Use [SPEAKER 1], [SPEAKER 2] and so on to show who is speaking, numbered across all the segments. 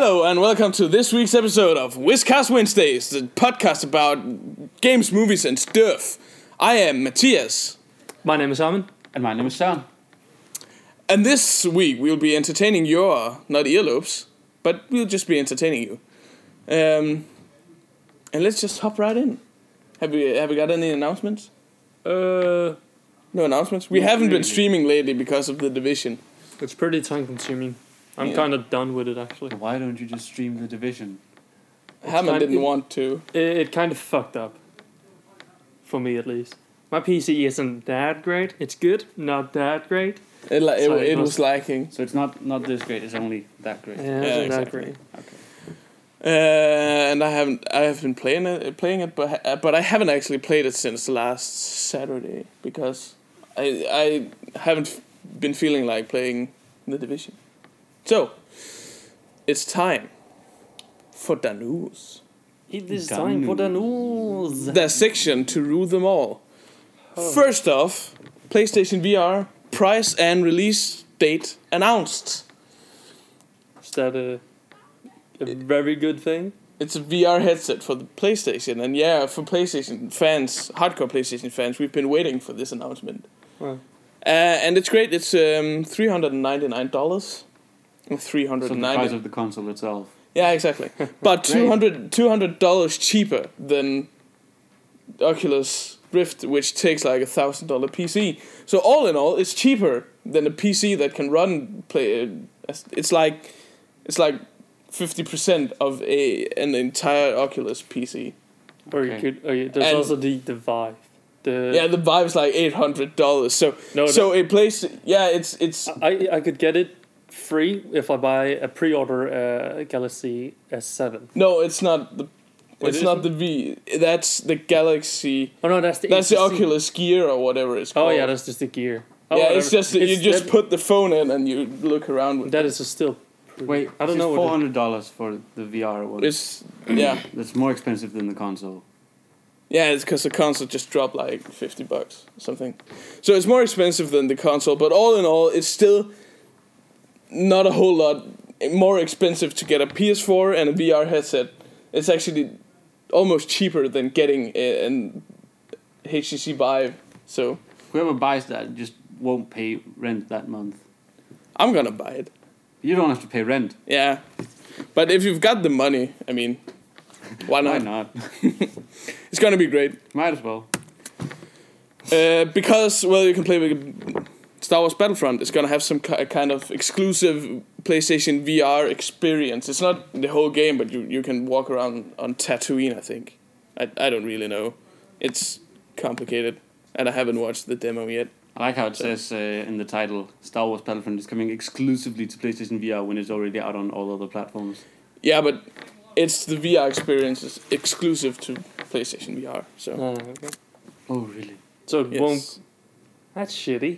[SPEAKER 1] Hello and welcome to this week's episode of Whizcast Wednesdays, the podcast about games, movies and stuff. I am Matthias.
[SPEAKER 2] My name is Simon.
[SPEAKER 3] And my name is Søren.
[SPEAKER 1] And this week we'll be entertaining your, not earlobes, but we'll just be entertaining you. And let's just hop right in. Have we got any announcements? No announcements? We haven't been streaming lately because of The Division.
[SPEAKER 2] It's pretty time consuming. I'm kind of done with it actually.
[SPEAKER 3] Why don't you just stream The Division?
[SPEAKER 1] Hammond didn't want to.
[SPEAKER 2] It kind of fucked up. For me at least. My PC isn't that great. It's good, not that great.
[SPEAKER 1] It was lacking.
[SPEAKER 3] So it's not this great, it's only that great.
[SPEAKER 2] Yeah, it's not that great.
[SPEAKER 3] Okay.
[SPEAKER 1] And I have been playing it, but I haven't actually played it since last Saturday because I haven't been feeling like playing The Division. So it's time for the news.
[SPEAKER 2] It is time for the news.
[SPEAKER 1] The section to rule them all. First off, PlayStation VR price and release date announced.
[SPEAKER 2] Is that a very good thing?
[SPEAKER 1] It's a VR headset for the PlayStation, and yeah, for PlayStation fans, hardcore PlayStation fans, we've been waiting for this announcement.
[SPEAKER 2] Wow.
[SPEAKER 1] And it's great. It's $399. $390.
[SPEAKER 3] So the price of the console itself.
[SPEAKER 1] Yeah, exactly. But $200 cheaper than Oculus Rift, which takes like $1,000 PC. So all in all, it's cheaper than a PC that can run play. It's like 50% of an entire Oculus PC.
[SPEAKER 2] Or you could. There's also the Vive.
[SPEAKER 1] The Vive's like $800. So it plays. Yeah, it's.
[SPEAKER 2] I could get it free if I buy a pre-order Galaxy S7.
[SPEAKER 1] No, it's not the. It's not the V. That's the Galaxy.
[SPEAKER 2] Oh no, that's the
[SPEAKER 1] Oculus Gear or whatever it's called.
[SPEAKER 2] Oh yeah, that's just the Gear.
[SPEAKER 1] Oh, yeah, it's just you just put the phone in and you look around with.
[SPEAKER 2] That is still.
[SPEAKER 3] Wait, I don't know. $400 for the VR one.
[SPEAKER 1] It's
[SPEAKER 3] That's more expensive than the console.
[SPEAKER 1] Yeah, it's because the console just dropped like $50 or something. So it's more expensive than the console, but all in all, it's still not a whole lot more expensive to get a PS4 and a VR headset. It's actually almost cheaper than getting an HTC Vive. So
[SPEAKER 3] whoever buys that just won't pay rent that month.
[SPEAKER 1] I'm gonna buy it.
[SPEAKER 3] You don't have to pay rent.
[SPEAKER 1] Yeah, but if you've got the money, I mean, why not?
[SPEAKER 3] Why not?
[SPEAKER 1] It's gonna be great.
[SPEAKER 3] Might as well.
[SPEAKER 1] Because you can play with Star Wars Battlefront. It's gonna have some kind of exclusive PlayStation VR experience. It's not the whole game, but you can walk around on Tatooine. I think. I don't really know. It's complicated, and I haven't watched the demo yet.
[SPEAKER 3] I like how it says in the title, Star Wars Battlefront is coming exclusively to PlayStation VR when it's already out on all other platforms.
[SPEAKER 1] Yeah, but it's the VR experience is exclusive to PlayStation VR. So.
[SPEAKER 2] Okay.
[SPEAKER 3] Oh, really?
[SPEAKER 2] So it won't. That's shitty.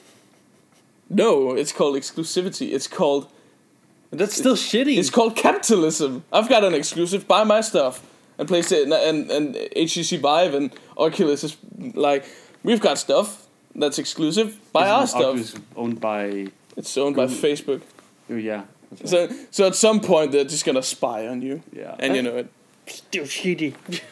[SPEAKER 1] No, it's called exclusivity. It's called.
[SPEAKER 2] That's still shitty.
[SPEAKER 1] It's called capitalism. I've got an exclusive. Buy my stuff. And PlayStation and HTC Vive and Oculus is like, we've got stuff that's exclusive. Buy our stuff.
[SPEAKER 3] Oculus owned by.
[SPEAKER 1] It's owned by Facebook.
[SPEAKER 3] Oh yeah.
[SPEAKER 1] So at some point they're just gonna spy on you.
[SPEAKER 3] Yeah.
[SPEAKER 1] And you know it.
[SPEAKER 2] Still shitty.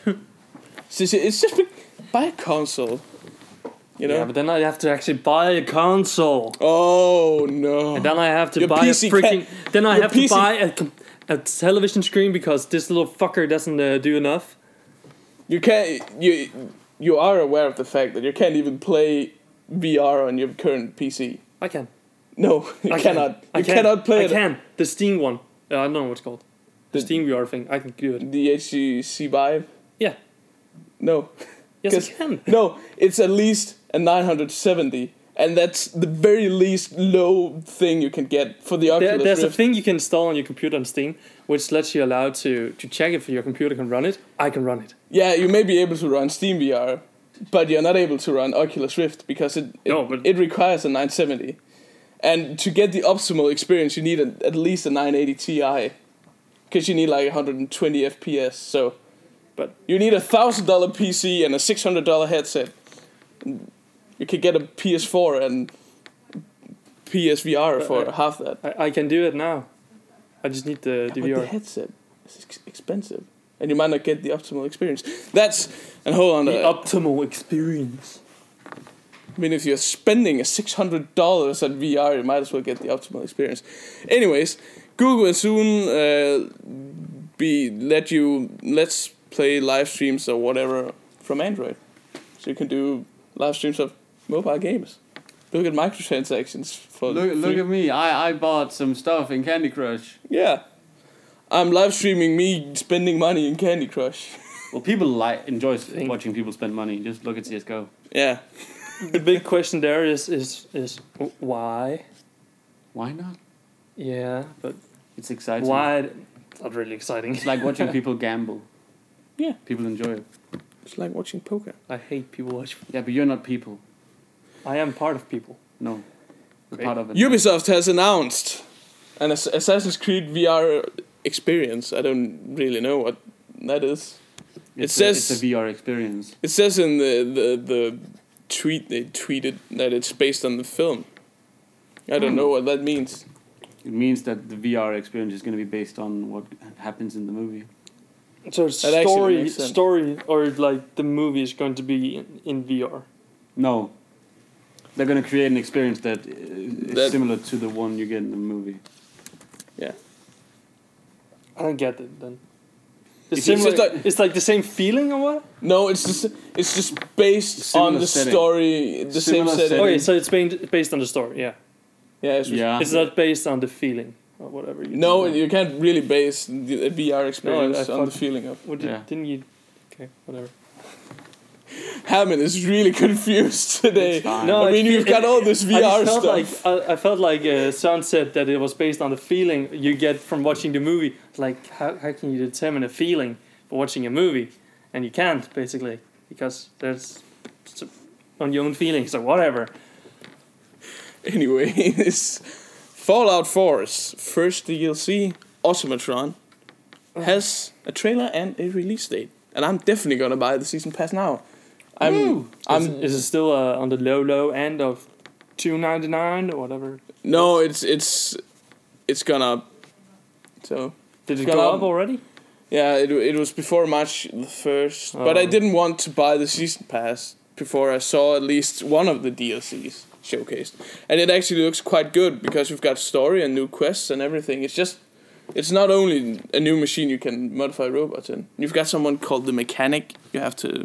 [SPEAKER 1] It's just buy a console. You know?
[SPEAKER 2] Yeah, but then I have to actually buy a console.
[SPEAKER 1] Oh no!
[SPEAKER 2] And then I have to
[SPEAKER 1] Your
[SPEAKER 2] buy
[SPEAKER 1] PC
[SPEAKER 2] a freaking. Then I have
[SPEAKER 1] PC
[SPEAKER 2] to buy a television screen because this little fucker doesn't do enough.
[SPEAKER 1] You can't. You are aware of the fact that you can't even play VR on your current PC.
[SPEAKER 2] I can.
[SPEAKER 1] No, you cannot. You cannot play it.
[SPEAKER 2] I can. The Steam one. I don't know what it's called. The Steam VR thing. I can do it.
[SPEAKER 1] The HTC Vive.
[SPEAKER 2] Yeah.
[SPEAKER 1] No.
[SPEAKER 2] Yes, I can.
[SPEAKER 1] No, it's at least a 970, and that's the very least low thing you can get for the Oculus
[SPEAKER 2] There's
[SPEAKER 1] Rift.
[SPEAKER 2] a thing you can install on your computer on Steam, which lets you allow to check if your computer can run it. I can run it.
[SPEAKER 1] Yeah, you may be able to run Steam VR, but you're not able to run Oculus Rift because it requires a 970. And to get the optimal experience, you need at least a 980 Ti, because you need like 120 FPS. So, but you need $1,000 PC and a $600 headset. You could get a PS4 and PSVR for half that.
[SPEAKER 2] I can do it now. I just need the
[SPEAKER 1] But
[SPEAKER 2] VR.
[SPEAKER 1] the headset is expensive, and you might not get the optimal experience. And hold on.
[SPEAKER 2] The optimal experience.
[SPEAKER 1] I mean, if you're spending $600 at VR, you might as well get the optimal experience. Anyways, Google will soon let's play live streams or whatever from Android, so you can do live streams of mobile games. Look at microtransactions for
[SPEAKER 3] Look at me. I bought some stuff in Candy Crush.
[SPEAKER 1] Yeah, I'm live streaming me spending money in Candy Crush.
[SPEAKER 3] Well, people enjoy watching people spend money. Just look at CS:GO.
[SPEAKER 1] Yeah.
[SPEAKER 2] The big question there is why?
[SPEAKER 3] Why not?
[SPEAKER 2] Yeah, but
[SPEAKER 3] It's exciting.
[SPEAKER 2] why? It's not really exciting.
[SPEAKER 3] It's like watching people gamble.
[SPEAKER 1] Yeah.
[SPEAKER 3] People enjoy it.
[SPEAKER 1] It's like watching poker.
[SPEAKER 2] I hate people watch.
[SPEAKER 3] Yeah, but you're not people.
[SPEAKER 2] I am part of people.
[SPEAKER 3] No. You're
[SPEAKER 2] Great.
[SPEAKER 3] part of it.
[SPEAKER 1] Ubisoft has announced an Assassin's Creed VR experience. I don't really know what that is.
[SPEAKER 3] It's a VR experience.
[SPEAKER 1] It says in the tweet they tweeted that it's based on the film. I don't know what that means.
[SPEAKER 3] It means that the VR experience is going to be based on what happens in the movie.
[SPEAKER 2] So it's
[SPEAKER 1] That actually makes sense.
[SPEAKER 2] story, or like the movie is going to be in VR.
[SPEAKER 3] No. They're going to create an experience that is similar to the one you get in the movie.
[SPEAKER 1] Yeah.
[SPEAKER 2] I don't get it then.
[SPEAKER 1] It's
[SPEAKER 2] like the same feeling or what?
[SPEAKER 1] No, it's just based
[SPEAKER 3] Similar
[SPEAKER 1] on the
[SPEAKER 3] setting.
[SPEAKER 1] story, the
[SPEAKER 3] Similar
[SPEAKER 1] same setting.
[SPEAKER 2] Okay, so it's based on the story, yeah.
[SPEAKER 1] Yeah,
[SPEAKER 2] It's not based on the feeling or whatever.
[SPEAKER 1] No, you can't really base the VR experience
[SPEAKER 2] I
[SPEAKER 1] on the
[SPEAKER 2] thought-
[SPEAKER 1] feeling of.
[SPEAKER 2] Didn't you? Okay, whatever.
[SPEAKER 1] Hammond is really confused today.
[SPEAKER 3] It's fine.
[SPEAKER 2] No,
[SPEAKER 1] I mean, you've got all this VR stuff.
[SPEAKER 2] I felt like Søren said that it was based on the feeling you get from watching the movie. Like, how can you determine a feeling for watching a movie? And you can't, basically, because there's on your own feelings or whatever.
[SPEAKER 1] Anyways, Fallout 4's first DLC, Automatron, has a trailer and a release date. And I'm definitely gonna buy the season pass now.
[SPEAKER 2] Is it still on the low end of $2.99 or whatever?
[SPEAKER 1] No, it's gonna. So
[SPEAKER 2] Did it
[SPEAKER 1] gonna-
[SPEAKER 2] go up already?
[SPEAKER 1] yeah, it was before March the 1st, but I didn't want to buy the season pass before I saw at least one of the DLCs showcased, and it actually looks quite good because we've got story and new quests and everything. It's not only a new machine you can modify robots in. You've got someone called the mechanic. You have to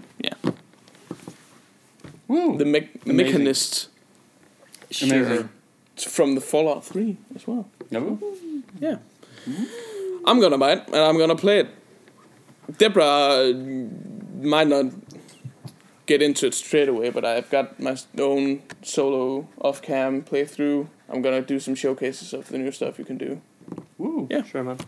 [SPEAKER 3] Woo.
[SPEAKER 1] the mechanist.
[SPEAKER 3] Amazing.
[SPEAKER 1] It's from the Fallout 3 as well.
[SPEAKER 3] Yeah.
[SPEAKER 1] I'm gonna buy it and I'm gonna play it. Deborah might not get into it straight away, but I've got my own solo off-cam playthrough. I'm gonna do some showcases of the new stuff you can do.
[SPEAKER 3] Woo.
[SPEAKER 1] Yeah.
[SPEAKER 2] Sure, man.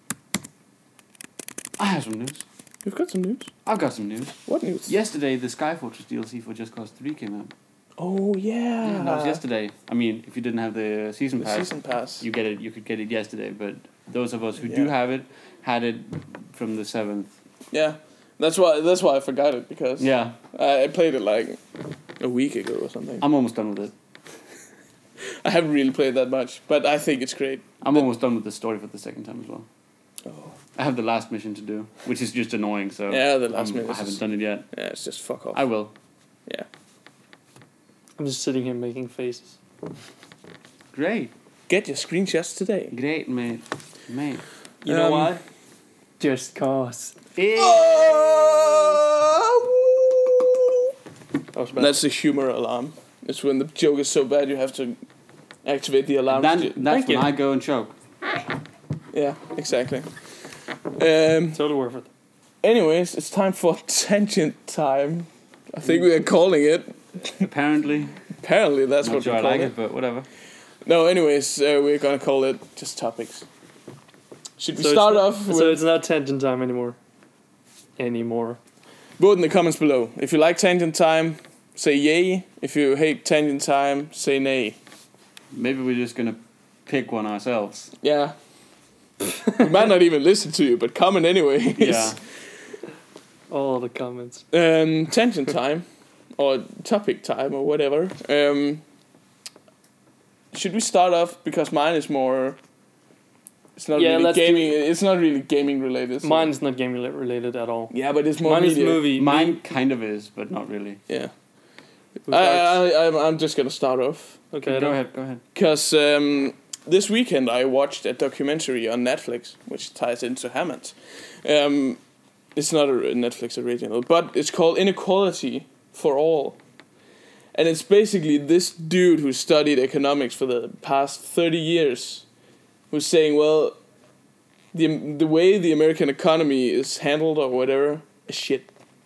[SPEAKER 3] I have some news.
[SPEAKER 1] You've got some news.
[SPEAKER 3] I've got some news.
[SPEAKER 1] What news?
[SPEAKER 3] Yesterday, the Skyfortress DLC for Just Cause 3 came out.
[SPEAKER 1] Oh yeah.
[SPEAKER 3] That was yesterday. I mean, if you didn't have the season
[SPEAKER 1] The
[SPEAKER 3] pass,
[SPEAKER 1] season pass.
[SPEAKER 3] you could get it yesterday. But those of us who
[SPEAKER 1] Yeah.
[SPEAKER 3] do have it, had it from the 7th.
[SPEAKER 1] Yeah. That's why I forgot it, because
[SPEAKER 3] Yeah,
[SPEAKER 1] I played it like a week ago or something.
[SPEAKER 3] I'm almost done with it.
[SPEAKER 1] I haven't really played that much, but I think it's great.
[SPEAKER 3] I'm almost done with the story for the second time as well.
[SPEAKER 1] Oh.
[SPEAKER 3] I have the last mission to do, which is just annoying. So
[SPEAKER 1] Yeah, the last mission
[SPEAKER 3] I haven't
[SPEAKER 1] is-
[SPEAKER 3] done it yet.
[SPEAKER 1] Yeah, it's just fuck off.
[SPEAKER 3] I will.
[SPEAKER 1] Yeah.
[SPEAKER 2] I'm just sitting here making faces.
[SPEAKER 3] Great,
[SPEAKER 1] Get your screenshots today.
[SPEAKER 3] great, mate.
[SPEAKER 2] You know why? Just cause. That was bad.
[SPEAKER 1] That's the humor alarm. It's when the joke is so bad you have to activate the alarm.
[SPEAKER 3] That's
[SPEAKER 2] Thank
[SPEAKER 3] when
[SPEAKER 2] you.
[SPEAKER 3] I go and choke.
[SPEAKER 1] Yeah, exactly.
[SPEAKER 2] Totally worth it.
[SPEAKER 1] Anyways, it's time for tangent time. I think we are calling it.
[SPEAKER 3] Apparently,
[SPEAKER 1] Apparently, that's
[SPEAKER 3] not
[SPEAKER 1] what
[SPEAKER 3] sure
[SPEAKER 1] we
[SPEAKER 3] I
[SPEAKER 1] call
[SPEAKER 3] like
[SPEAKER 1] it.
[SPEAKER 3] it, but whatever.
[SPEAKER 1] No, anyways, we're gonna call it just topics. Should we
[SPEAKER 2] So
[SPEAKER 1] start
[SPEAKER 2] it's-
[SPEAKER 1] off with...
[SPEAKER 2] So it's not tangent time anymore.
[SPEAKER 1] Vote in the comments below. If you like tangent time, say yay. If you hate tangent time, say nay.
[SPEAKER 3] Maybe we're just gonna pick one ourselves.
[SPEAKER 1] Yeah. We might not even listen to you, but comment anyway.
[SPEAKER 3] Yeah.
[SPEAKER 2] All the comments.
[SPEAKER 1] Tangent time, or topic time, or whatever. Should we start off, because mine is more It's not really gaming. It's not really gaming related. So.
[SPEAKER 2] Mine is not gaming related at all.
[SPEAKER 1] Yeah, but it's more.
[SPEAKER 2] Mine
[SPEAKER 1] media.
[SPEAKER 2] is movie.
[SPEAKER 3] Mine kind of is, but not really.
[SPEAKER 1] Yeah. I'm just gonna start off.
[SPEAKER 3] Okay, go ahead.
[SPEAKER 1] Because this weekend I watched a documentary on Netflix, which ties into Hammond. It's not a Netflix original, but it's called Inequality for All. And it's basically this dude who studied economics for the past 30 years who's saying, well, the way the American economy is handled or whatever is shit.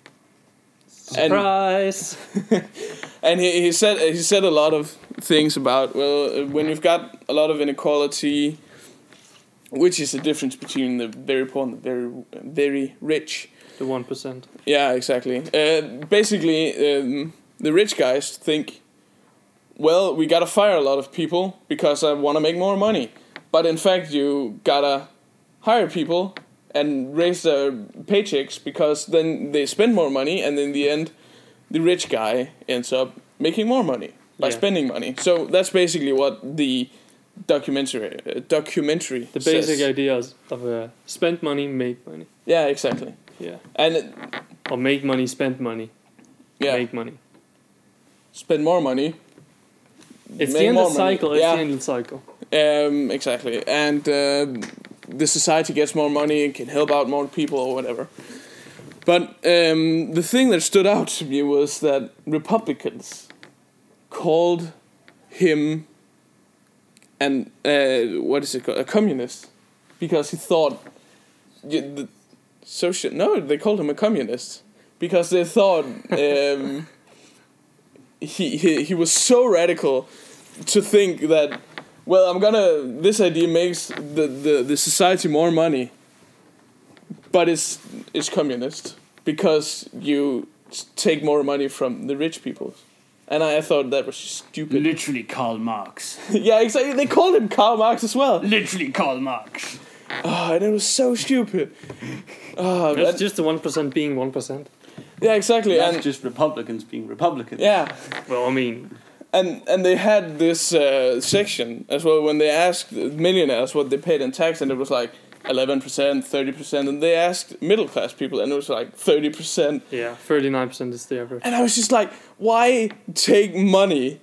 [SPEAKER 2] Surprise!
[SPEAKER 1] And he said a lot of things about, well, when you've got a lot of inequality, which is the difference between the very poor and the very, very rich.
[SPEAKER 2] The 1%.
[SPEAKER 1] Yeah, exactly. Basically, the rich guys think, well, we gotta fire a lot of people because I want to make more money. But in fact, you gotta hire people and raise their paychecks because then they spend more money, and in the end, the rich guy ends up making more money by spending money. So that's basically what the documentary
[SPEAKER 2] the basic ideas of spend money, make money.
[SPEAKER 1] Yeah, exactly.
[SPEAKER 2] Yeah.
[SPEAKER 1] And
[SPEAKER 2] or make money, spend money.
[SPEAKER 1] Yeah.
[SPEAKER 2] Make money.
[SPEAKER 1] Spend more money.
[SPEAKER 2] It's the end of the cycle. It's the end of the cycle.
[SPEAKER 1] Exactly. And the society gets more money and can help out more people or whatever. But the thing that stood out to me was that Republicans called him a communist, because he thought they called him a communist because they thought he was so radical to think that, well, this idea makes the society more money, but it's communist because you take more money from the rich people. And I thought that was stupid.
[SPEAKER 3] Literally Karl Marx.
[SPEAKER 1] Yeah, exactly. They called him Karl Marx as well.
[SPEAKER 3] Literally Karl Marx.
[SPEAKER 1] Oh, and it was so stupid. Oh,
[SPEAKER 2] it's just the 1% being 1%.
[SPEAKER 1] Yeah, exactly.
[SPEAKER 3] That's and just Republicans being Republicans.
[SPEAKER 1] Yeah.
[SPEAKER 2] Well, I mean...
[SPEAKER 1] And they had this section as well when they asked millionaires what they paid in tax, and it was like 11%, 30%, and they asked middle class people, and it was like 30%.
[SPEAKER 2] Yeah, 39% is the average.
[SPEAKER 1] And I was just like, why take money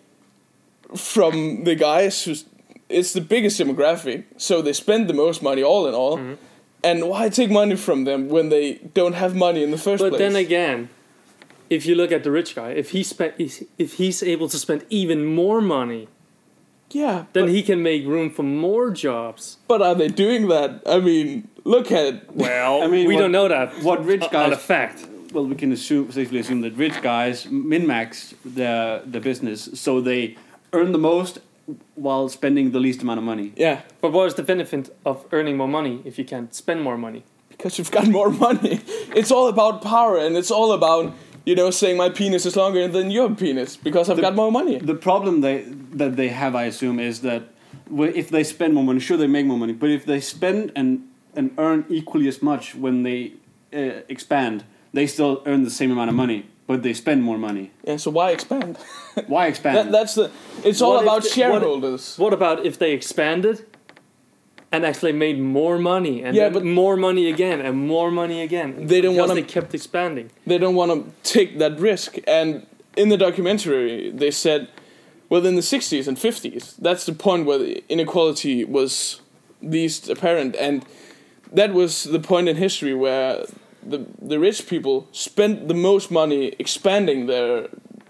[SPEAKER 1] from the guys who's... It's the biggest demographic, so they spend the most money all in all. Mm-hmm. And why take money from them when they don't have money in the first place?
[SPEAKER 2] But then again, if you look at the rich guy, if he's able to spend even more money, then he can make room for more jobs.
[SPEAKER 1] But are they doing that? I mean, look at it.
[SPEAKER 2] Well, I mean, we don't know that.
[SPEAKER 3] What rich guys?
[SPEAKER 2] Not a fact.
[SPEAKER 3] Well, we can safely assume that rich guys min-max their business, so they earn the most while spending the least amount of money.
[SPEAKER 1] Yeah.
[SPEAKER 2] But what is the benefit of earning more money if you can't spend more money?
[SPEAKER 1] Because you've got more money. It's all about power, and it's all about, saying my penis is longer than your penis because I've got more money.
[SPEAKER 3] The problem that they have, I assume, is that if they spend more money, sure, they make more money, but if they spend and earn equally as much when they expand, they still earn the same amount of money, but they spend more money.
[SPEAKER 1] Yeah, so why expand?
[SPEAKER 3] Why expand?
[SPEAKER 1] It's all about shareholders.
[SPEAKER 2] What about if they expanded and actually made more money, and but more money again, and more money again? They kept expanding.
[SPEAKER 1] They don't want to take that risk. And in the documentary, they said, well, in the 60s and 50s, that's the point where the inequality was least apparent. And that was the point in history where the rich people spent the most money expanding their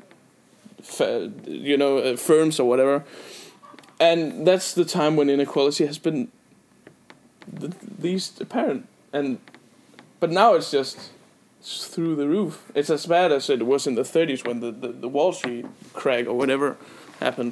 [SPEAKER 1] firms or whatever, and that's the time when inequality has been the least apparent. But now it's just through the roof. It's as bad as it was in the 30s when the Wall Street crack or whatever happened.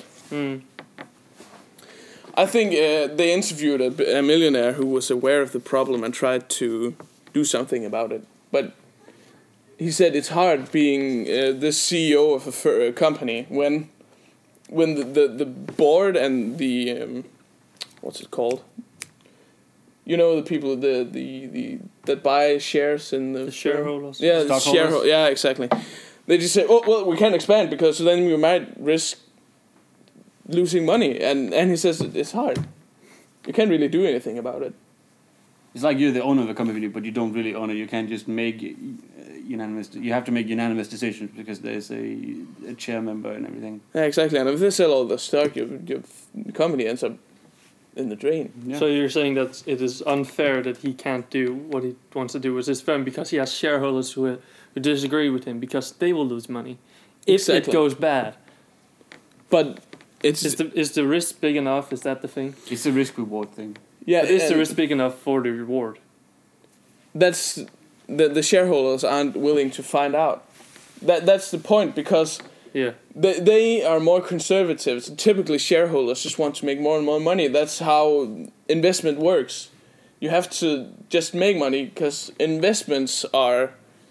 [SPEAKER 1] I think they interviewed a millionaire who was aware of the problem and tried to do something about it, but he said it's hard being the CEO of a company when the board and the what's it called? The people the that buy shares in the
[SPEAKER 2] shareholders.
[SPEAKER 1] Yeah, the shareholders. Yeah, exactly. They just say, "Oh, well, we can't expand because then we might risk losing money," and he says it's hard. You can't really do anything about it.
[SPEAKER 3] It's like you're the owner of a company, but you don't really own it. You can't just make unanimous. You have to make unanimous decisions because there's a chair member and everything.
[SPEAKER 1] Yeah, exactly. And if they sell all the stock, your company ends up in the drain.
[SPEAKER 2] Yeah. So you're saying that it is unfair that he can't do what he wants to do with his firm because he has shareholders who disagree with him because they will lose money if it goes bad.
[SPEAKER 1] But
[SPEAKER 2] is the risk big enough? Is that the thing?
[SPEAKER 3] It's a risk reward thing.
[SPEAKER 1] Yeah,
[SPEAKER 2] but is the risk big enough for the reward?
[SPEAKER 1] That's the shareholders aren't willing to find out. That's the point, because they are more conservative. So typically, shareholders just want to make more and more money. That's how investment works. You have to just make money because investments are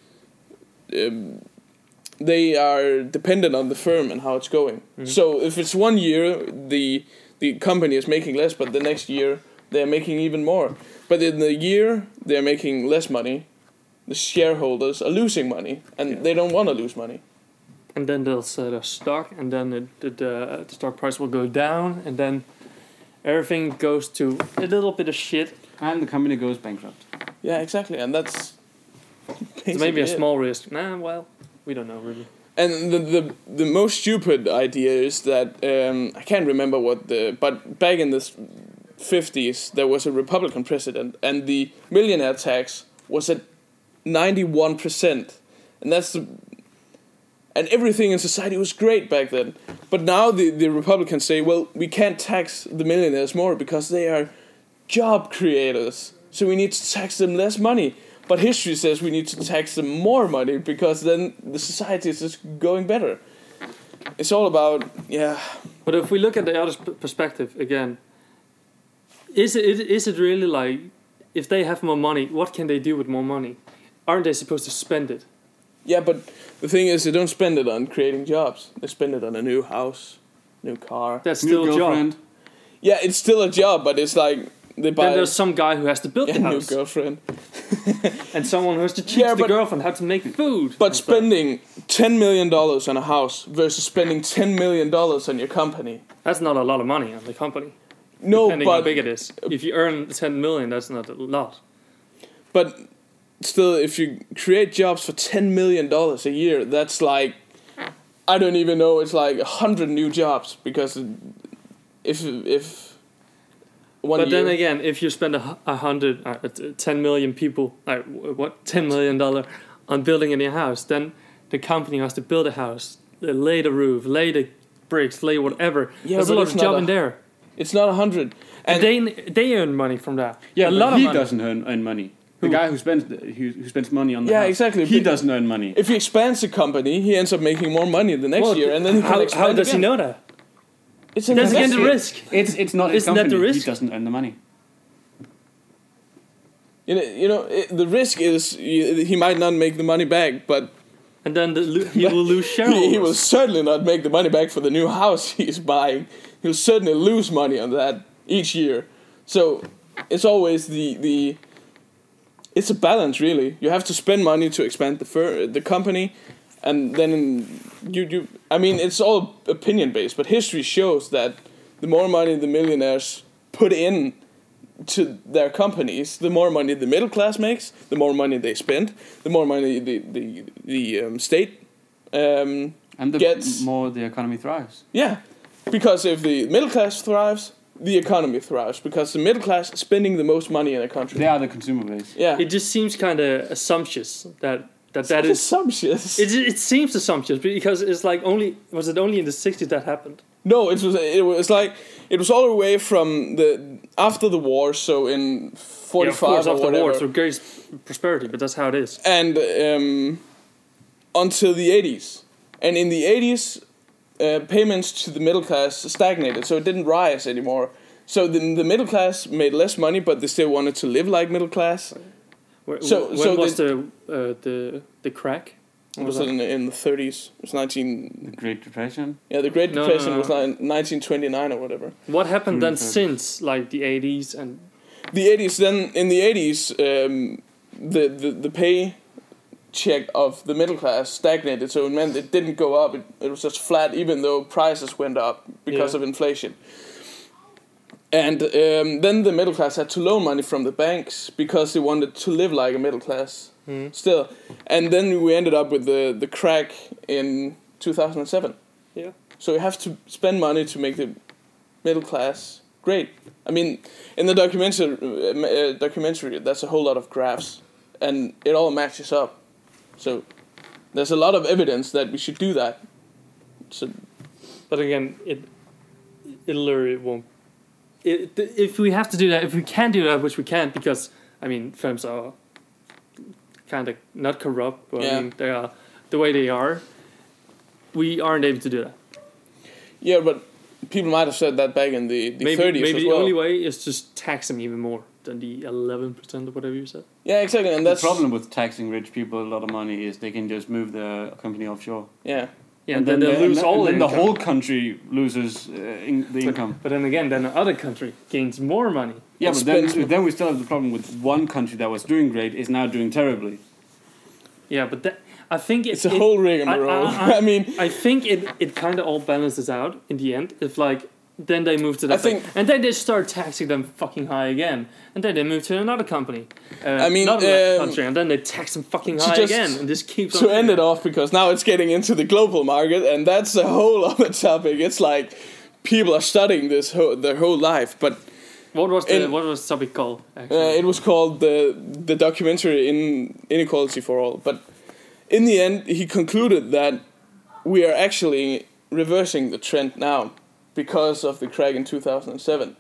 [SPEAKER 1] they are dependent on the firm and how it's going. Mm-hmm. So if it's 1 year, the company is making less, but the next year they're making even more. But in the year they're making less money, the shareholders are losing money, and they don't want to lose money.
[SPEAKER 2] And then they'll sell their stock, and then the stock price will go down, and then everything goes to a little bit of shit.
[SPEAKER 3] And the company goes bankrupt.
[SPEAKER 1] Yeah, exactly, and that's
[SPEAKER 2] so maybe a small risk. Nah, well, we don't know really.
[SPEAKER 1] And the most stupid idea is that I can't remember but back in the 50s there was a Republican president, and the millionaire tax was at 91%, and and everything in society was great back then. But now the Republicans say, well, we can't tax the millionaires more because they are job creators, so we need to tax them less money. But history says we need to tax them more money because then the society is just going better. It's all about,
[SPEAKER 2] But if we look at the other perspective again, is it really like, if they have more money, what can they do with more money? Aren't they supposed to spend it?
[SPEAKER 1] Yeah, but the thing is, they don't spend it on creating jobs. They spend it on a new house, new car.
[SPEAKER 2] That's still a job.
[SPEAKER 1] Yeah, it's still a job, but it's like they buy.
[SPEAKER 2] Then there's some guy who has to build the house.
[SPEAKER 1] New girlfriend.
[SPEAKER 2] And someone who has to teach the girlfriend how to make food.
[SPEAKER 1] But spending $10 million on a house versus spending $10 million on your company.
[SPEAKER 2] That's not a lot of money on the company.
[SPEAKER 1] No,
[SPEAKER 2] depending how big it is. If you earn 10 million, that's not a lot.
[SPEAKER 1] But still, if you create jobs for $10 million a year, that's like, I don't even know, it's like 100 new jobs, because if one
[SPEAKER 2] but
[SPEAKER 1] year,
[SPEAKER 2] then again, if you spend 10 million people, $10 million on building a new house, then the company has to build a house, lay the roof, lay the bricks, lay whatever. There's a lot of job in there.
[SPEAKER 1] It's not 100. And
[SPEAKER 2] they earn money from that.
[SPEAKER 3] Yeah, a lot of money. He doesn't earn money. The guy who spends money on the house.
[SPEAKER 1] Exactly.
[SPEAKER 3] He doesn't earn money.
[SPEAKER 1] If he expands the company, he ends up making more money the next year, and then he can expand.
[SPEAKER 2] How does he know that?
[SPEAKER 1] That's
[SPEAKER 2] again the risk.
[SPEAKER 3] It's not his company.
[SPEAKER 2] That the risk?
[SPEAKER 3] He doesn't earn the money.
[SPEAKER 1] The risk is he might not make the money back, but.
[SPEAKER 2] And then he will lose shareholders.
[SPEAKER 1] He will certainly not make the money back for the new house he's buying. He'll certainly lose money on that each year. So it's always it's a balance, really. You have to spend money to expand the company, and then you. I mean, it's all opinion based, but history shows that the more money the millionaires put in to their companies, the more money the middle class makes, the more money they spend, the more money the state
[SPEAKER 3] and the
[SPEAKER 1] gets.
[SPEAKER 3] More the economy thrives.
[SPEAKER 1] Yeah, because if the middle class thrives, the economy thrives, because the middle class is spending the most money in a country.
[SPEAKER 3] They are the consumer base.
[SPEAKER 1] Yeah,
[SPEAKER 2] it just seems kind of assumptuous that is
[SPEAKER 1] assumptuous.
[SPEAKER 2] It seems assumptuous because it's like was it only in the 60s that happened?
[SPEAKER 1] No, it was all the way from after the war, so in 45
[SPEAKER 2] of course,
[SPEAKER 1] or
[SPEAKER 2] after
[SPEAKER 1] whatever.
[SPEAKER 2] the war, so great prosperity, but that's how it is.
[SPEAKER 1] And until the 80s, and in the 80s, payments to the middle class stagnated, so it didn't rise anymore. So the middle class made less money, but they still wanted to live like middle class.
[SPEAKER 2] When was the crack?
[SPEAKER 1] It was in the 30s. It was
[SPEAKER 3] The Great Depression?
[SPEAKER 1] Yeah, the Great Depression was 1929 or whatever.
[SPEAKER 2] What happened then since, like, the 80s and...
[SPEAKER 1] The 80s, then, in the 80s, the pay check of the middle class stagnated, so it meant it didn't go up, it was just flat, even though prices went up because of inflation. And then the middle class had to loan money from the banks because they wanted to live like a middle class still. And then we ended up with the crack in 2007.
[SPEAKER 2] Yeah.
[SPEAKER 1] So you have to spend money to make the middle class great. I mean, in the documentary, there's a whole lot of graphs, and it all matches up. So there's a lot of evidence that we should do that. So,
[SPEAKER 2] but again, it literally won't. If we have to do that, if we can do that, which we can't, because I mean, films are kind of not corrupt, but I mean, they are the way they are. We aren't able to do that.
[SPEAKER 1] Yeah, but people might have said that back in the 30s
[SPEAKER 2] maybe
[SPEAKER 1] as
[SPEAKER 2] the
[SPEAKER 1] well.
[SPEAKER 2] only way is just tax them even more than the 11% or whatever you said.
[SPEAKER 1] Yeah, exactly. And that's
[SPEAKER 3] the problem with taxing rich people a lot of money is they can just move the company offshore.
[SPEAKER 1] Yeah.
[SPEAKER 2] Yeah, and then they lose all
[SPEAKER 3] and
[SPEAKER 2] income.
[SPEAKER 3] the whole country loses the income.
[SPEAKER 2] But then again, then the other country gains more money.
[SPEAKER 3] Yeah, but then we still have the problem with one country that was doing great is now doing terribly.
[SPEAKER 2] Yeah, but I think
[SPEAKER 1] it's a whole rigmarole. I mean,
[SPEAKER 2] I think it kind of all balances out in the end. If like then they move to that thing, and then they start taxing them fucking high again, and then they move to another company.
[SPEAKER 1] I mean,
[SPEAKER 2] another country, and then they tax them fucking high again, and this keeps
[SPEAKER 1] to
[SPEAKER 2] on
[SPEAKER 1] end it off, because now it's getting into the global market, and that's a whole other topic. It's like people are studying this their whole life, but.
[SPEAKER 2] What was the topic called?
[SPEAKER 1] It was called the documentary Inequality for All. But in the end, he concluded that we are actually reversing the trend now because of the crack in 2007.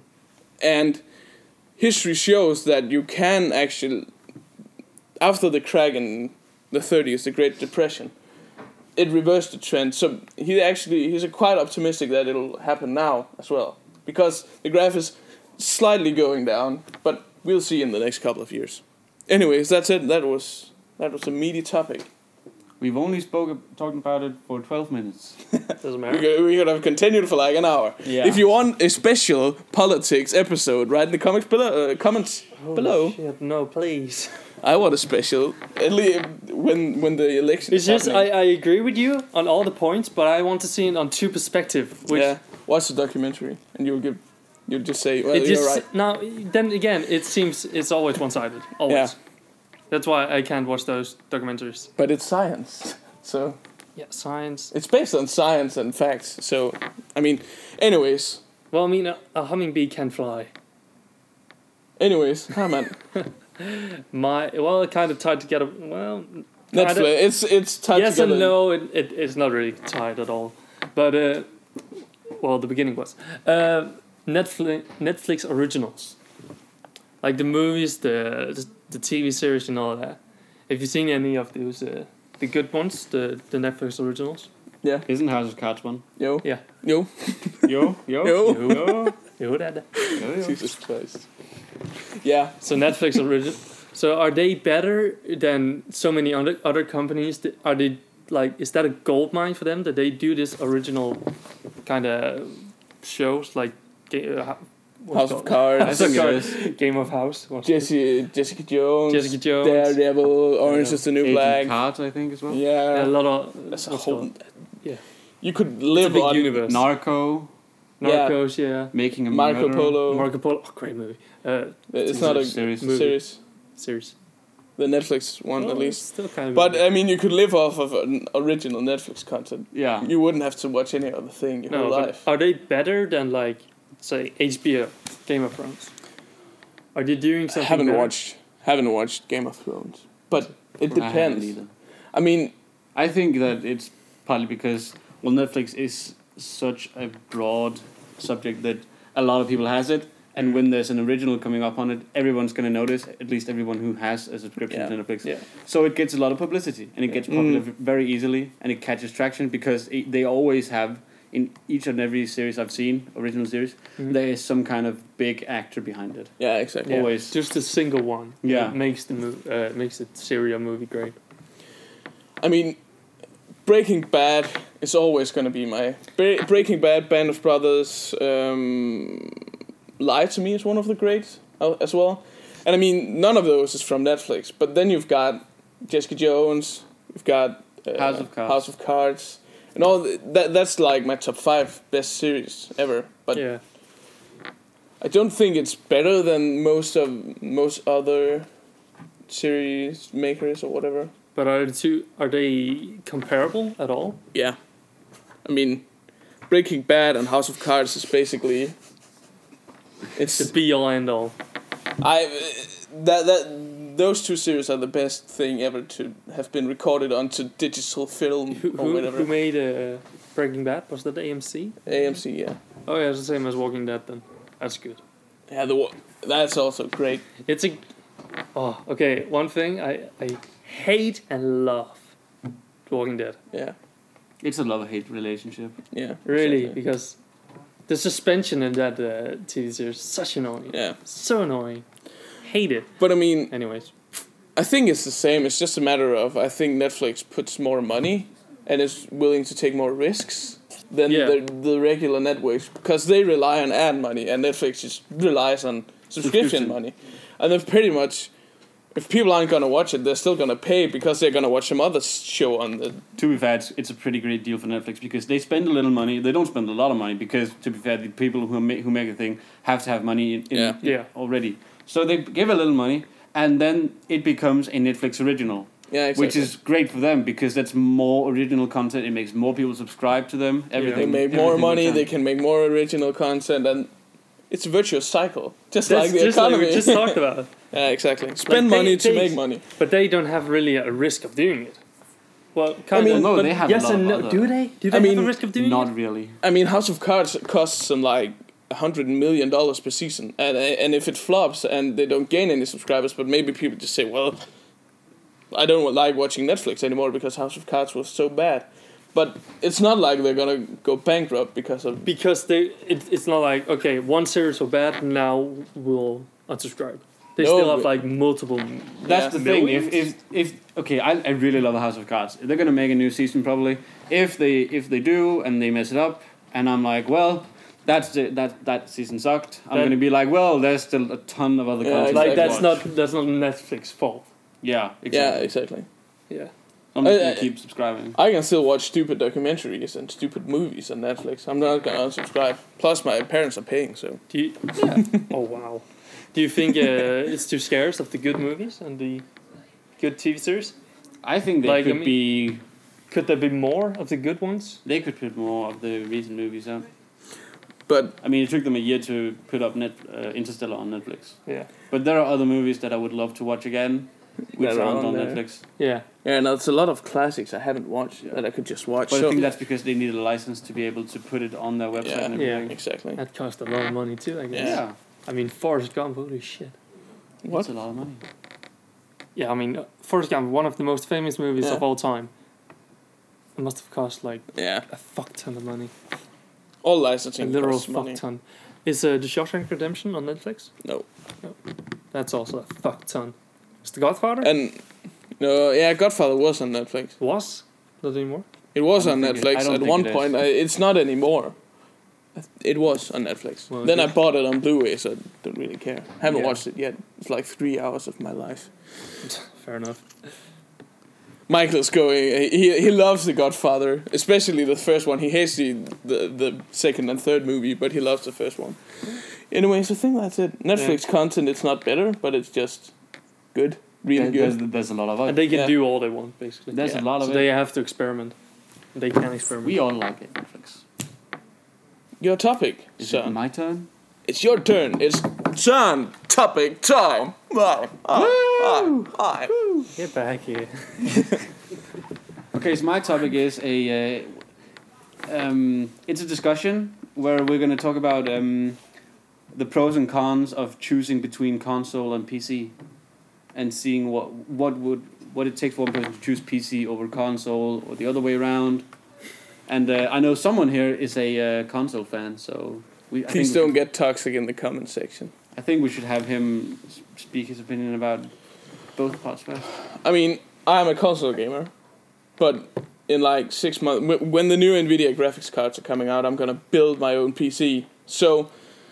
[SPEAKER 1] And history shows that you can actually, after the crack in the 30s, the Great Depression, it reversed the trend. So he's quite optimistic that it'll happen now as well, because the graph is slightly going down, but we'll see in the next couple of years. Anyways, that's it. That was a meaty topic.
[SPEAKER 3] We've only talking about it for 12 minutes.
[SPEAKER 2] Doesn't matter.
[SPEAKER 1] We could have continued for like an hour.
[SPEAKER 3] Yeah.
[SPEAKER 1] If you want a special politics episode, write in the comments below.
[SPEAKER 2] Shit, no, please.
[SPEAKER 1] I want a special, at least when the election
[SPEAKER 2] It's
[SPEAKER 1] is
[SPEAKER 2] just
[SPEAKER 1] happening.
[SPEAKER 2] I agree with you on all the points, but I want to see it on two perspectives.
[SPEAKER 1] Watch the documentary, and you'll just say, well, you're right.
[SPEAKER 2] Now, then again, it seems it's always one-sided. Always.
[SPEAKER 1] Yeah.
[SPEAKER 2] That's why I can't watch those documentaries.
[SPEAKER 1] But it's science, so...
[SPEAKER 2] Yeah, science.
[SPEAKER 1] It's based on science and facts, so... I mean, anyways...
[SPEAKER 2] Well, I mean, a hummingbee can fly.
[SPEAKER 1] Anyways, man.
[SPEAKER 2] It kind of tied together. Well...
[SPEAKER 1] Netflix, it's tied
[SPEAKER 2] yes
[SPEAKER 1] together.
[SPEAKER 2] And no, it's not really tied at all. But, well, the beginning was. Netflix originals. Like the movies, the TV series and all that. Have you seen any of those, the good ones, the Netflix originals?
[SPEAKER 1] Yeah.
[SPEAKER 3] Isn't House of Cards one?
[SPEAKER 1] Yo.
[SPEAKER 2] Yeah.
[SPEAKER 1] Yo.
[SPEAKER 3] Yo.
[SPEAKER 2] Dad.
[SPEAKER 1] Jesus Christ. Yeah.
[SPEAKER 2] So Netflix original. So are they better than so many other companies? Are they like? Is that a gold mine for them that they do this original kind of shows like?
[SPEAKER 1] House of Cards.
[SPEAKER 2] Game of House.
[SPEAKER 1] Jessica Jones.
[SPEAKER 2] Daredevil.
[SPEAKER 1] Orange is the New Black.
[SPEAKER 3] Cards, I think, as well.
[SPEAKER 1] Yeah.
[SPEAKER 2] A lot of.
[SPEAKER 1] That's a whole...
[SPEAKER 2] Yeah.
[SPEAKER 1] You could live
[SPEAKER 2] it's a big
[SPEAKER 1] on...
[SPEAKER 2] universe.
[SPEAKER 3] Narcos,
[SPEAKER 2] yeah.
[SPEAKER 3] Making a
[SPEAKER 1] Marco
[SPEAKER 3] Murderer.
[SPEAKER 1] Polo.
[SPEAKER 2] Marco Polo. Oh, great movie.
[SPEAKER 1] It's not a
[SPEAKER 3] series.
[SPEAKER 2] Series.
[SPEAKER 1] The Netflix one, at least.
[SPEAKER 2] Still kind of.
[SPEAKER 1] But I mean, you could live off of an original Netflix content.
[SPEAKER 3] Yeah.
[SPEAKER 1] You wouldn't have to watch any other thing your whole life.
[SPEAKER 2] Are they better than like, say, HBO, Game of Thrones? Are they doing something?
[SPEAKER 3] Haven't
[SPEAKER 1] watched Game of Thrones, but it depends. I mean,
[SPEAKER 3] I think that it's partly because Netflix is such a broad subject that a lot of people has it. And when there's an original coming up on it, everyone's going to notice, at least everyone who has a subscription to Netflix. Yeah. So it gets a lot of publicity, and it gets popular very easily, and it catches traction because they always have, in each and every series I've seen, original series, there is some kind of big actor behind it.
[SPEAKER 1] Yeah, exactly.
[SPEAKER 3] Always.
[SPEAKER 2] Just a single one.
[SPEAKER 3] Yeah.
[SPEAKER 2] Makes the series or movie great.
[SPEAKER 1] I mean, Breaking Bad is always going to be my... Breaking Bad, Band of Brothers... Lie to Me is one of the greats as well. And I mean, none of those is from Netflix. But then you've got Jessica Jones, you've got House of Cards, and all that's like my top 5 best series ever. But I don't think it's better than most other series makers or whatever.
[SPEAKER 2] But are they comparable at all?
[SPEAKER 1] Yeah, I mean, Breaking Bad and House of Cards is basically it's
[SPEAKER 2] the be all end all.
[SPEAKER 1] Those two series are the best thing ever to have been recorded onto digital film or whatever.
[SPEAKER 2] Who made Breaking Bad? Was that AMC?
[SPEAKER 1] AMC, yeah.
[SPEAKER 2] Oh yeah, it's the same as Walking Dead then. That's good.
[SPEAKER 1] Yeah, that's also great.
[SPEAKER 2] It's a... Oh, okay, one thing I hate and love Walking Dead.
[SPEAKER 1] Yeah.
[SPEAKER 3] It's a love-hate relationship.
[SPEAKER 1] Yeah.
[SPEAKER 2] Really,
[SPEAKER 1] exactly.
[SPEAKER 2] because the suspension in that TV series is such annoying.
[SPEAKER 1] Yeah.
[SPEAKER 2] So annoying. Hate it.
[SPEAKER 1] But I mean...
[SPEAKER 2] Anyways.
[SPEAKER 1] I think it's the same. It's just a matter of, I think Netflix puts more money and is willing to take more risks than the regular networks, because they rely on ad money and Netflix just relies on subscription money. And they've pretty much, if people aren't going to watch it, they're still going to pay because they're going to watch some other show on the...
[SPEAKER 3] To be fair, it's a pretty great deal for Netflix because they spend a little money. They don't spend a lot of money because, to be fair, the people who make a thing have to have money in already. So they give a little money and then it becomes a Netflix original.
[SPEAKER 1] Yeah, exactly.
[SPEAKER 3] Which is great for them because that's more original content. It makes more people subscribe to them.
[SPEAKER 1] Everything. They make more money. They can make more original content, and it's a virtuous cycle, just like the economy.
[SPEAKER 2] Like we just talked about.
[SPEAKER 1] Yeah, exactly. Spend money to make money.
[SPEAKER 2] But they don't have really a risk of doing it. Well,
[SPEAKER 3] no, they have.
[SPEAKER 2] Yes and no. Do they? Do they have a risk of doing it?
[SPEAKER 3] Not really.
[SPEAKER 1] I mean, House of Cards costs them like $100 million per season, and if it flops and they don't gain any subscribers, but maybe people just say, well, I don't like watching Netflix anymore because House of Cards was so bad. But it's not like they're gonna go bankrupt because
[SPEAKER 2] it's not like, okay, one series so bad, now we'll unsubscribe. They still have like multiple.
[SPEAKER 3] That's the thing. If okay, I really love House of Cards. They're gonna make a new season probably. If they do and they mess it up, and I'm like, well, that season sucked. I'm gonna be like, well, there's still a ton of other content.
[SPEAKER 2] Like that's not Netflix's fault.
[SPEAKER 3] Yeah, exactly.
[SPEAKER 1] Yeah, exactly.
[SPEAKER 2] Yeah.
[SPEAKER 3] I'm just gonna keep subscribing.
[SPEAKER 1] I can still watch stupid documentaries and stupid movies on Netflix. I'm not gonna unsubscribe. Plus, my parents are paying, so.
[SPEAKER 2] Oh wow. Do you think it's too scarce of the good movies and the good TV series?
[SPEAKER 3] I think could be.
[SPEAKER 2] Could there be more of the good ones?
[SPEAKER 3] They could put more of the recent movies out.
[SPEAKER 1] But
[SPEAKER 3] I mean, it took them a year to put up Interstellar on Netflix.
[SPEAKER 2] Yeah.
[SPEAKER 3] But there are other movies that I would love to watch again, which aren't on Netflix.
[SPEAKER 2] Yeah.
[SPEAKER 1] Yeah, and there's a lot of classics I haven't watched that I could just watch.
[SPEAKER 3] But I think that's because they need a license to be able to put it on their website and everything.
[SPEAKER 1] Yeah, exactly.
[SPEAKER 2] That cost a lot of money too, I guess.
[SPEAKER 3] Yeah.
[SPEAKER 2] I mean, Forrest Gump, holy shit.
[SPEAKER 3] That's a lot of money.
[SPEAKER 2] Yeah, I mean, Forrest Gump, one of the most famous movies of all time. It must have cost like a fuck ton of money.
[SPEAKER 1] All licensing
[SPEAKER 2] a literal
[SPEAKER 1] costs
[SPEAKER 2] fuck
[SPEAKER 1] money.
[SPEAKER 2] ton. Is The Shawshank Redemption on Netflix?
[SPEAKER 1] No.
[SPEAKER 2] That's also a fuck ton. Is The Godfather?
[SPEAKER 1] And Godfather was on Netflix.
[SPEAKER 2] Was? Not anymore?
[SPEAKER 1] It was on Netflix at one point. It's not anymore. It was on Netflix.
[SPEAKER 2] Well,
[SPEAKER 1] then I bought it on Blu-ray, so I don't really care. Haven't watched it yet. It's like 3 hours of my life.
[SPEAKER 2] Fair enough.
[SPEAKER 1] Michael's going. He loves The Godfather, especially the first one. He hates the second and third movie, but he loves the first one. Anyways, I think that's it. Netflix content, it's not better, but it's just good, really good.
[SPEAKER 3] There's a lot of it.
[SPEAKER 2] And they can do all they want, basically.
[SPEAKER 3] There's a lot of it.
[SPEAKER 2] So they have to experiment. They can experiment.
[SPEAKER 3] We all like it, Netflix.
[SPEAKER 1] Your topic,
[SPEAKER 3] Is
[SPEAKER 1] son.
[SPEAKER 3] it my turn?
[SPEAKER 1] It's your turn. It's Son topic time.
[SPEAKER 2] Get back here.
[SPEAKER 3] Okay, so my topic is it's a discussion where we're going to talk about the pros and cons of choosing between console and PC, and seeing what it takes for one person to choose PC over console or the other way around. And I know someone here is a console fan, so
[SPEAKER 1] please don't get toxic in the comment section.
[SPEAKER 3] I think we should have him speak his opinion about both parts first.
[SPEAKER 1] I mean, I'm a console gamer, but in like 6 months, when the new NVIDIA graphics cards are coming out, I'm gonna build my own PC. So,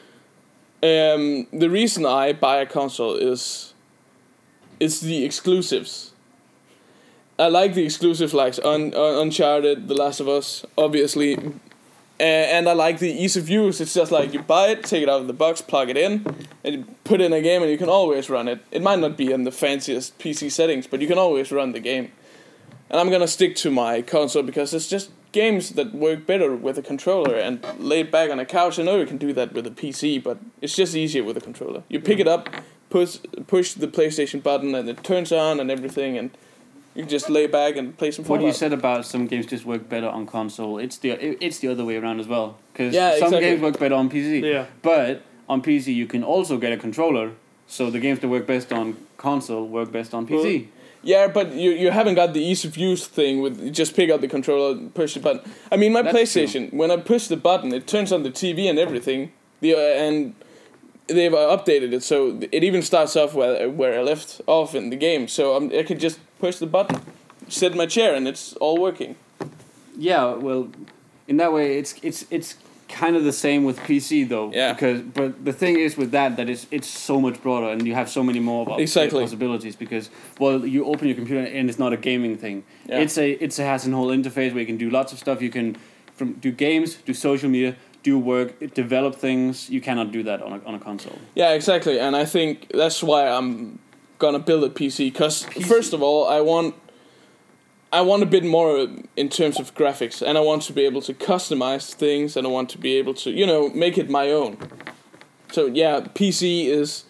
[SPEAKER 1] the reason I buy a console is the exclusives. I like the exclusives like Uncharted, The Last of Us, obviously, And I like the ease of use. It's just like you buy it, take it out of the box, plug it in, and you put it in a game, and you can always run it. It might not be in the fanciest PC settings, but you can always run the game. And I'm gonna stick to my console because it's just games that work better with a controller and laid back on a couch. I know you can do that with a PC, but it's just easier with a controller. You pick it up, push the PlayStation button, and it turns on and everything, and you can just lay back and play some Fallout.
[SPEAKER 3] What you said about some games just work better on console, it's the other way around as well. Because some
[SPEAKER 1] exactly.
[SPEAKER 3] games work better on PC.
[SPEAKER 2] Yeah.
[SPEAKER 3] But on PC you can also get a controller, so the games that work best on console work best on PC.
[SPEAKER 1] Well, yeah, but you haven't got the ease of use thing with you just pick up the controller, push the button. I mean, my That's PlayStation, true. When I push the button, it turns on the TV and everything. And they've updated it, so it even starts off where I left off in the game. So I can just push the button, sit in my chair, and it's all working.
[SPEAKER 3] Yeah, well, in that way, it's kind of the same with PC though.
[SPEAKER 1] Yeah.
[SPEAKER 3] But the thing is with that it's so much broader, and you have so many more possibilities. Because you open your computer and it's not a gaming thing. Yeah. It has a whole interface where you can do lots of stuff. You can do games, do social media, do work, develop things. You cannot do that on a console.
[SPEAKER 1] Yeah, exactly, and I think that's why I'm gonna build a PC. Because first of all, I want a bit more in terms of graphics, and I want to be able to customize things, and I want to be able to, make it my own. So yeah, PC is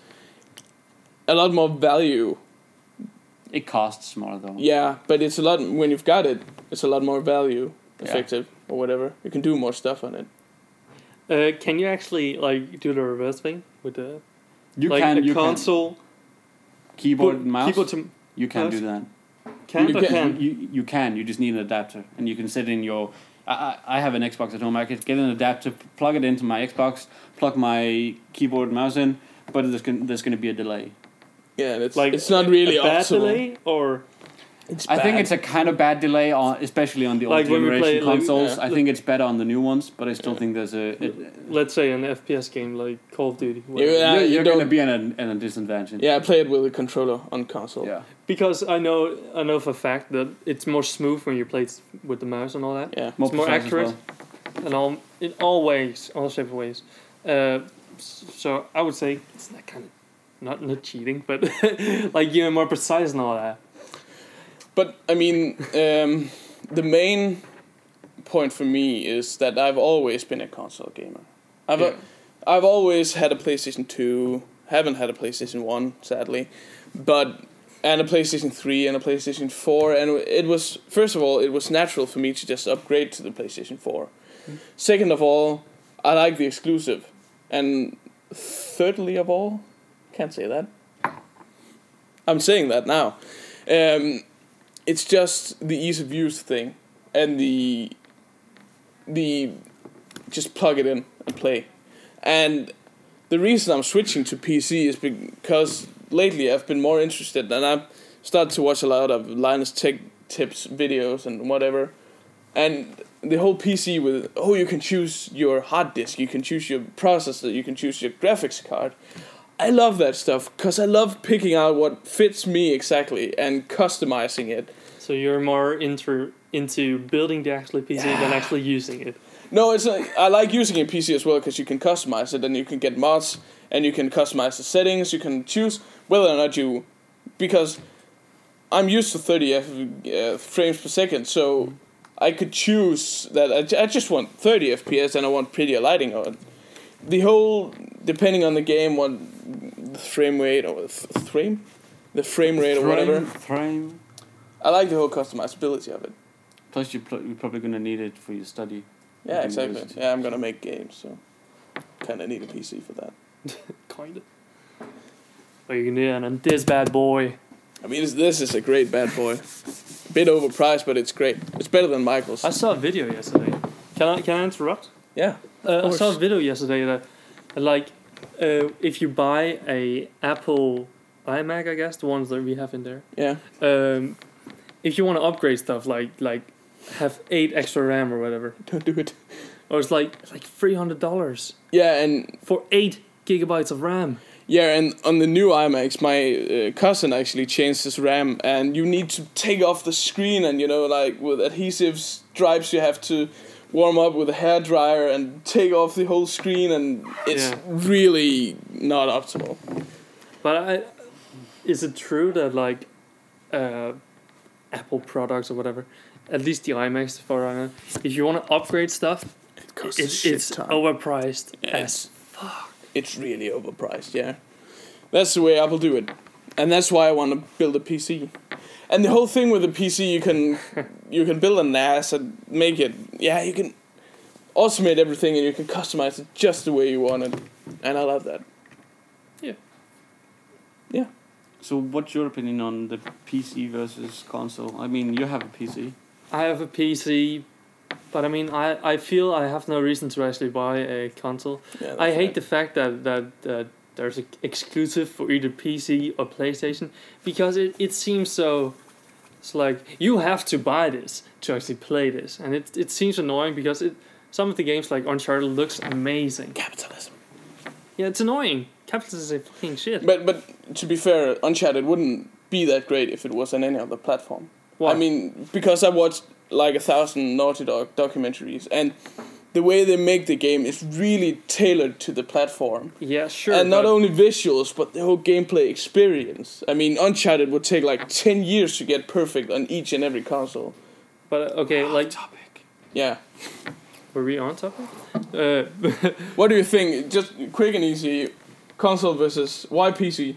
[SPEAKER 1] a lot more value.
[SPEAKER 3] It costs more though.
[SPEAKER 1] Yeah, but it's a lot, when you've got it, it's a lot more value effective or whatever. You can do more stuff on it.
[SPEAKER 2] Can you actually do the reverse thing with the console
[SPEAKER 3] keyboard and mouse? You can
[SPEAKER 2] mouse?
[SPEAKER 3] do that.
[SPEAKER 2] You
[SPEAKER 3] can. You just need an adapter, and you can sit in your. I have an Xbox at home. I could get an adapter, plug it into my Xbox, plug my keyboard and mouse in, but there's going to be a delay.
[SPEAKER 1] Yeah, it's not really
[SPEAKER 2] a bad
[SPEAKER 1] optimal.
[SPEAKER 2] Delay or.
[SPEAKER 3] I think it's a kind of bad delay, especially on the old generation consoles. I think it's better on the new ones, but I still think there's
[SPEAKER 2] let's say an FPS game like Call of Duty.
[SPEAKER 3] You're going to be in a disadvantage.
[SPEAKER 1] Yeah, I play it with a controller on console.
[SPEAKER 3] Yeah.
[SPEAKER 2] Because I know for a fact that it's more smooth when you play it with the mouse and all that.
[SPEAKER 1] Yeah.
[SPEAKER 2] It's more accurate. And in all ways, all shape of ways. So I would say it's that kind of not cheating, but you're more precise and all that.
[SPEAKER 1] But I mean, the main point for me is that I've always been a console gamer. I've always had a PlayStation 2. Haven't had a PlayStation 1, sadly, and a PlayStation 3 and a PlayStation 4. And it was, first of all, it was natural for me to just upgrade to the PlayStation 4. Mm. Second of all, I like the exclusive. And thirdly of all, can't say that. I'm saying that now. It's just the ease of use thing, and the just plug it in and play. And the reason I'm switching to PC is because lately I've been more interested, and I've started to watch a lot of Linus Tech Tips videos and whatever. And the whole PC with, you can choose your hard disk, you can choose your processor, you can choose your graphics card. I love that stuff because I love picking out what fits me exactly and customizing it.
[SPEAKER 2] So you're more into building the actual PC than actually using it.
[SPEAKER 1] No, I like using a PC as well because you can customize it and you can get mods and you can customize the settings. You can choose whether or not because I'm used to 30 frames per second, so I could choose that I just want 30 FPS and I want prettier lighting on it. The whole, depending on the game, what the frame rate or the frame rate or whatever. I like the whole customizability of it.
[SPEAKER 3] Plus, you're probably gonna need it for your study.
[SPEAKER 1] Yeah, exactly. University. Yeah, I'm gonna make games, so kind of need a PC for that.
[SPEAKER 2] Kinda. What are you gonna do on this bad boy?
[SPEAKER 1] I mean, this is a great bad boy. Bit overpriced, but it's great. It's better than Michael's.
[SPEAKER 2] I saw a video yesterday. Can I interrupt?
[SPEAKER 1] Yeah.
[SPEAKER 2] I saw a video yesterday that, if you buy a Apple iMac, I guess the ones that we have in there.
[SPEAKER 1] Yeah.
[SPEAKER 2] If you want to upgrade stuff, like have 8 extra RAM or whatever.
[SPEAKER 1] Don't do it.
[SPEAKER 2] Or it's like $300.
[SPEAKER 1] Yeah, and
[SPEAKER 2] for 8 gigabytes of RAM.
[SPEAKER 1] Yeah, and on the new iMacs, my cousin actually changed his RAM, and you need to take off the screen, and with adhesive stripes, you have to warm up with a hairdryer and take off the whole screen, and it's really not optimal.
[SPEAKER 2] But is it true that like Apple products or whatever, at least the iMacs for if you want to upgrade stuff, it's overpriced as fuck.
[SPEAKER 1] It's really overpriced, yeah. That's the way Apple do it. And that's why I want to build a PC. And the whole thing with the PC, you can build a NAS and make it, you can automate everything and you can customize it just the way you want it. And I love that.
[SPEAKER 2] Yeah.
[SPEAKER 1] Yeah.
[SPEAKER 3] So what's your opinion on the PC versus console? I mean, you have a PC.
[SPEAKER 2] I have a PC, but I mean, I feel I have no reason to actually buy a console.
[SPEAKER 1] Yeah,
[SPEAKER 2] I hate the fact that there's an exclusive for either PC or PlayStation, because it seems so. It's like you have to buy this to actually play this, and it seems annoying because some of the games like Uncharted looks amazing.
[SPEAKER 1] Capitalism.
[SPEAKER 2] Yeah, it's annoying. Capitalism is a fucking shit.
[SPEAKER 1] But to be fair, Uncharted wouldn't be that great if it was on any other platform.
[SPEAKER 2] Why?
[SPEAKER 1] I mean, because I watched like 1,000 Naughty Dog documentaries, and the way they make the game is really tailored to the platform.
[SPEAKER 2] Yeah, sure.
[SPEAKER 1] And not only visuals, but the whole gameplay experience. I mean, Uncharted would take like 10 years to get perfect on each and every console.
[SPEAKER 2] But okay, like
[SPEAKER 3] topic.
[SPEAKER 1] Yeah.
[SPEAKER 2] Were we on topic?
[SPEAKER 1] What do you think? Just quick and easy. Console versus why PC?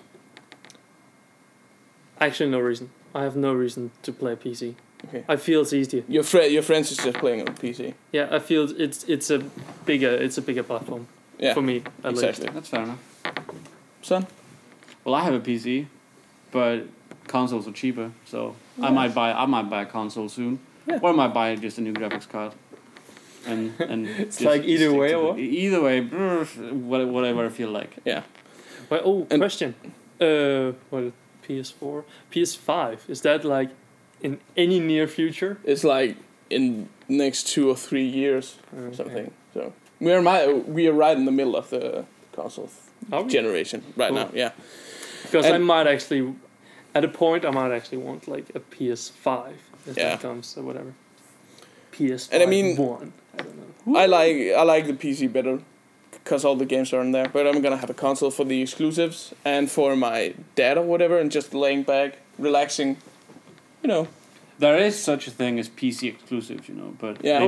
[SPEAKER 2] Actually, no reason. I have no reason to play PC.
[SPEAKER 1] Okay.
[SPEAKER 2] I feel it's easier.
[SPEAKER 1] Your friends is just playing on PC.
[SPEAKER 2] Yeah, I feel it's a bigger platform.
[SPEAKER 1] Yeah.
[SPEAKER 2] For me, at
[SPEAKER 1] Exactly.
[SPEAKER 2] least.
[SPEAKER 3] That's fair enough.
[SPEAKER 1] Son?
[SPEAKER 3] Well, I have a PC, but consoles are cheaper, so I might buy a console soon, or I might buy just a new graphics card. And
[SPEAKER 2] it's like either way or
[SPEAKER 3] either way, whatever I feel like.
[SPEAKER 1] Yeah.
[SPEAKER 2] Well, question. What PS4, PS5? Is that like in any near future?
[SPEAKER 1] It's like in next 2 or 3 years or something. So we are right in the middle of the console generation right now. Yeah.
[SPEAKER 2] Because I might actually, at a point, I might actually want like a PS5 if that comes or whatever. PS5
[SPEAKER 1] and I mean,
[SPEAKER 2] 1. I don't know.
[SPEAKER 1] I like the PC better because all the games are in there. But I'm gonna have a console for the exclusives and for my dad or whatever, and just laying back, relaxing. You know.
[SPEAKER 3] There is such a thing as PC exclusives, you know, but
[SPEAKER 1] yeah.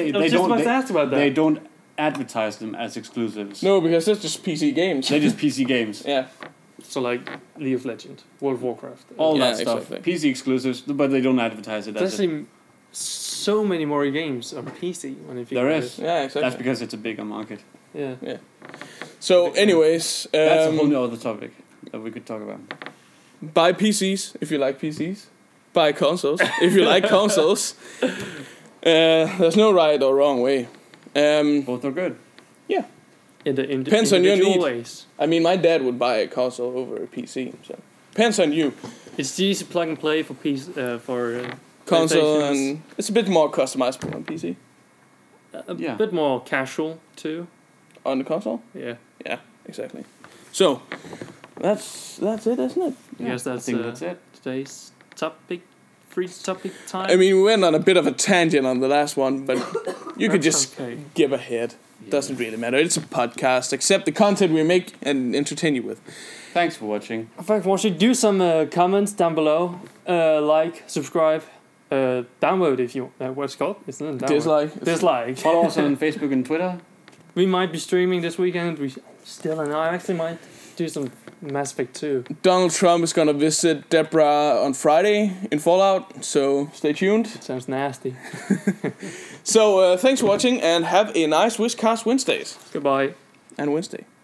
[SPEAKER 3] they don't advertise them as exclusives.
[SPEAKER 1] No, because it's just PC games.
[SPEAKER 3] They're just PC games.
[SPEAKER 1] Yeah.
[SPEAKER 2] So like League of Legends, World of Warcraft,
[SPEAKER 3] all that stuff.
[SPEAKER 1] Exactly.
[SPEAKER 3] PC exclusives, but they don't advertise it.
[SPEAKER 2] There's so many more games on PC.
[SPEAKER 3] There is.
[SPEAKER 1] Yeah, exactly.
[SPEAKER 3] That's because it's a bigger market.
[SPEAKER 2] Yeah.
[SPEAKER 1] Yeah. So, anyways,
[SPEAKER 3] that's a whole other topic that we could talk about.
[SPEAKER 1] Buy PCs if you like PCs. Buy consoles if you like consoles. There's no right or wrong way.
[SPEAKER 3] Both are good.
[SPEAKER 1] Yeah.
[SPEAKER 2] Depends on your need. Ways.
[SPEAKER 1] I mean, my dad would buy a console over a PC. So depends on you.
[SPEAKER 2] It's easy plug and play for
[SPEAKER 1] console, and it's a bit more customizable on PC.
[SPEAKER 2] A bit more casual too.
[SPEAKER 1] On the console?
[SPEAKER 2] Yeah.
[SPEAKER 1] Yeah, exactly. So that's it, isn't it?
[SPEAKER 2] I guess that's
[SPEAKER 3] it.
[SPEAKER 2] Today's free topic time.
[SPEAKER 1] I mean, we went on a bit of a tangent on the last one, but you could just give a head. Doesn't really matter. It's a podcast. Accept the content we make and entertain you with.
[SPEAKER 3] Thanks for watching.
[SPEAKER 2] Thanks for watching. Do some comments down below. Like, subscribe, download if you. What's it called? It's not download. Dislike.
[SPEAKER 3] Follow us on Facebook and Twitter.
[SPEAKER 2] We might be streaming this weekend. I actually might do some Mass Effect 2.
[SPEAKER 1] Donald Trump is gonna visit Deborah on Friday in Fallout, so stay tuned.
[SPEAKER 2] It sounds nasty.
[SPEAKER 1] So thanks for watching and have a nice Wishcast Wednesdays.
[SPEAKER 2] Goodbye.
[SPEAKER 1] And Wednesday.